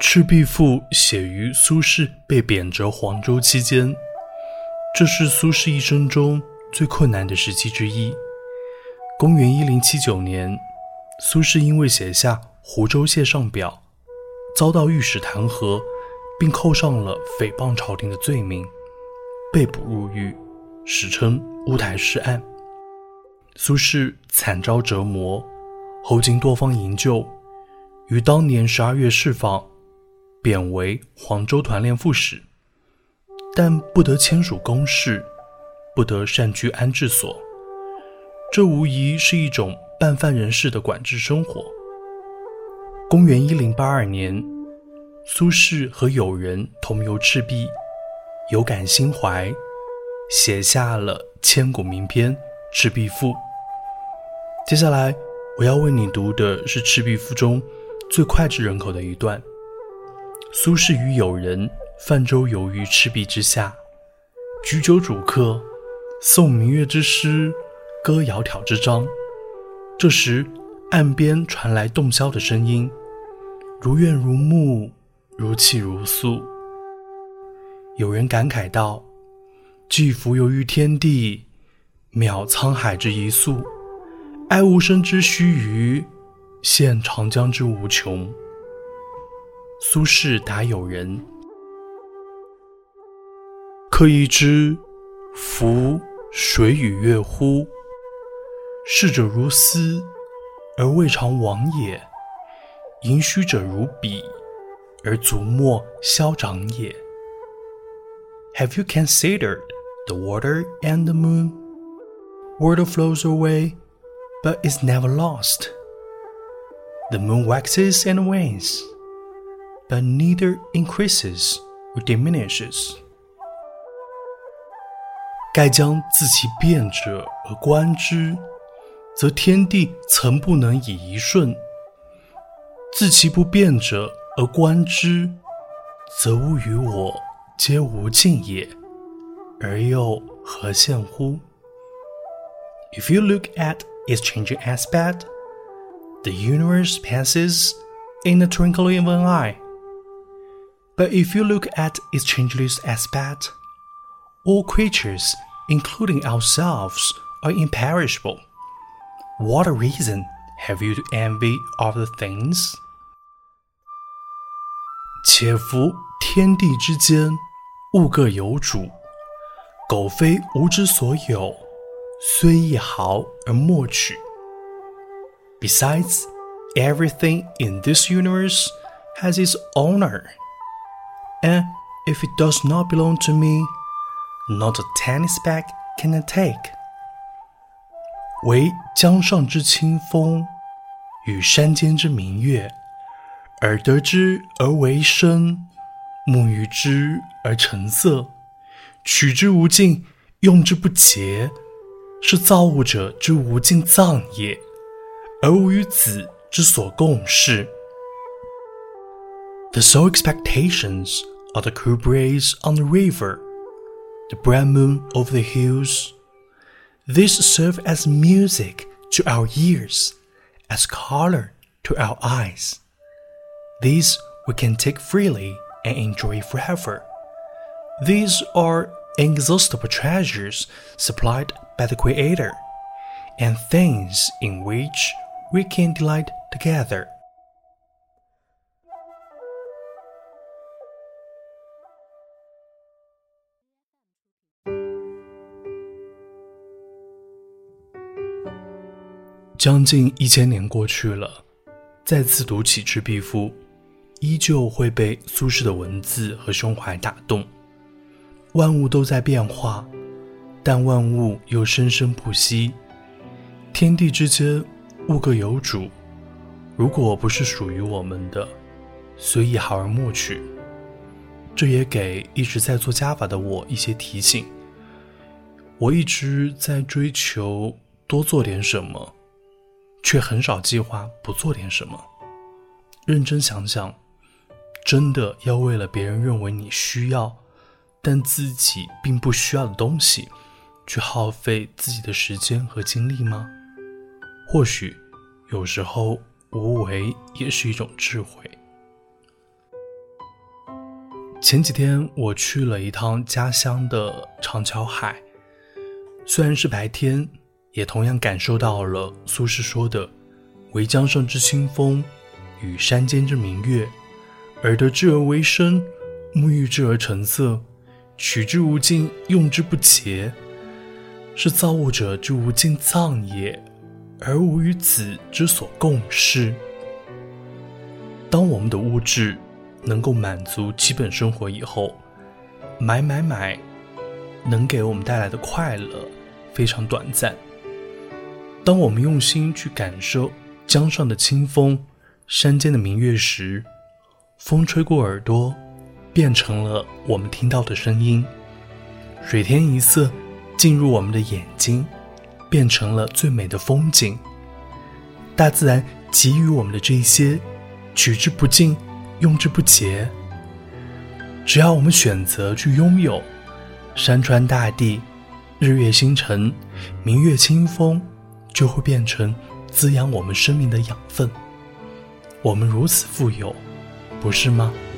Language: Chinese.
赤壁赋》写于苏轼被贬谪黄州期间，这是苏轼一生中最困难的时期之一。公元1079年，苏轼因为写下《湖州谢上表》，遭到御史弹劾，并扣上了诽谤朝廷的罪名，被捕入狱，史称乌台诗案。苏轼惨遭折磨，后经多方营救，于当年12月释放，贬为黄州团练副使，但不得签署公事，不得擅居安置所，这无疑是一种半犯人式的管制生活。公元1082年，苏轼和友人同游赤壁，有感心怀，写下了千古名篇《赤壁赋》。接下来我要为你读的是《赤壁赋》中最脍炙人口的一段。苏轼与友人泛舟游于赤壁之下，举酒属客，诵明月之诗，歌窈窕之章。这时岸边传来洞箫的声音，如怨如慕，如泣如诉。有人感慨道：寄蜉蝣于天地，渺沧海之一粟，哀吾生之须臾，羡长江之无穷。苏轼答友人：客亦知夫水与月乎？逝者如斯，而未尝往也；盈虚者如彼，而足莫消长也。 Have you considered the water and the moon? Water flows away, but is never lost. The moon waxes and wanes, but neither increases or diminishes. 盖将自其变者而观之，则天地曾不能以一瞬；自其不变者而观之，则物与我皆无尽也，而又何羡乎？ If you look at its changing aspect, the universe passes in the twinkling of an eye. But if you look at its changeless aspect, all creatures, including ourselves, are imperishable. What a reason have you to envy other things? 且夫天地之间，物各有主，苟非吾之所有，虽一毫而莫取。Besides, everything in this universe has its owner, and if it does not belong to me, not a tiny speck can I take. 惟江上之清风，与山间之明月，耳得之而为声，目遇之而成色，取之无尽，用之不竭，是造物者之无尽藏也，而吾与子之所共适。The sole expectations are the cool breeze on the river, the bright moon over the hills. These serve as music to our ears, as color to our eyes. These we can take freely and enjoy forever. These are inexhaustible treasures supplied by the Creator, and things in which we can delight together. 将近1000年过去了，再次读起《赤壁赋》，依旧会被苏轼的文字和胸怀打动。万物都在变化，但万物又生生不息。天地之间，物各有主，如果不是属于我们的，虽一毫而莫取。这也给一直在做加法的我一些提醒。我一直在追求多做点什么，却很少计划不做点什么。认真想想，真的要为了别人认为你需要，但自己并不需要的东西，去耗费自己的时间和精力吗？或许，有时候无为也是一种智慧。 前几天我去了一趟家乡的长桥海，虽然是白天，也同样感受到了苏轼说的惟江上之清风，与山间之明月，耳得之而为声，目遇之而成色，取之无尽，用之不竭，是造物者之无尽藏也，而吾与子之所共适。当我们的物质能够满足基本生活以后，买能给我们带来的快乐非常短暂。当我们用心去感受江上的清风，山间的明月时，风吹过耳朵，变成了我们听到的声音；水天一色进入我们的眼睛，变成了最美的风景。大自然给予我们的这些，取之不尽，用之不竭。只要我们选择去拥有，山川大地，日月星辰，明月清风，就会变成滋养我们生命的养分。我们如此富有，不是吗？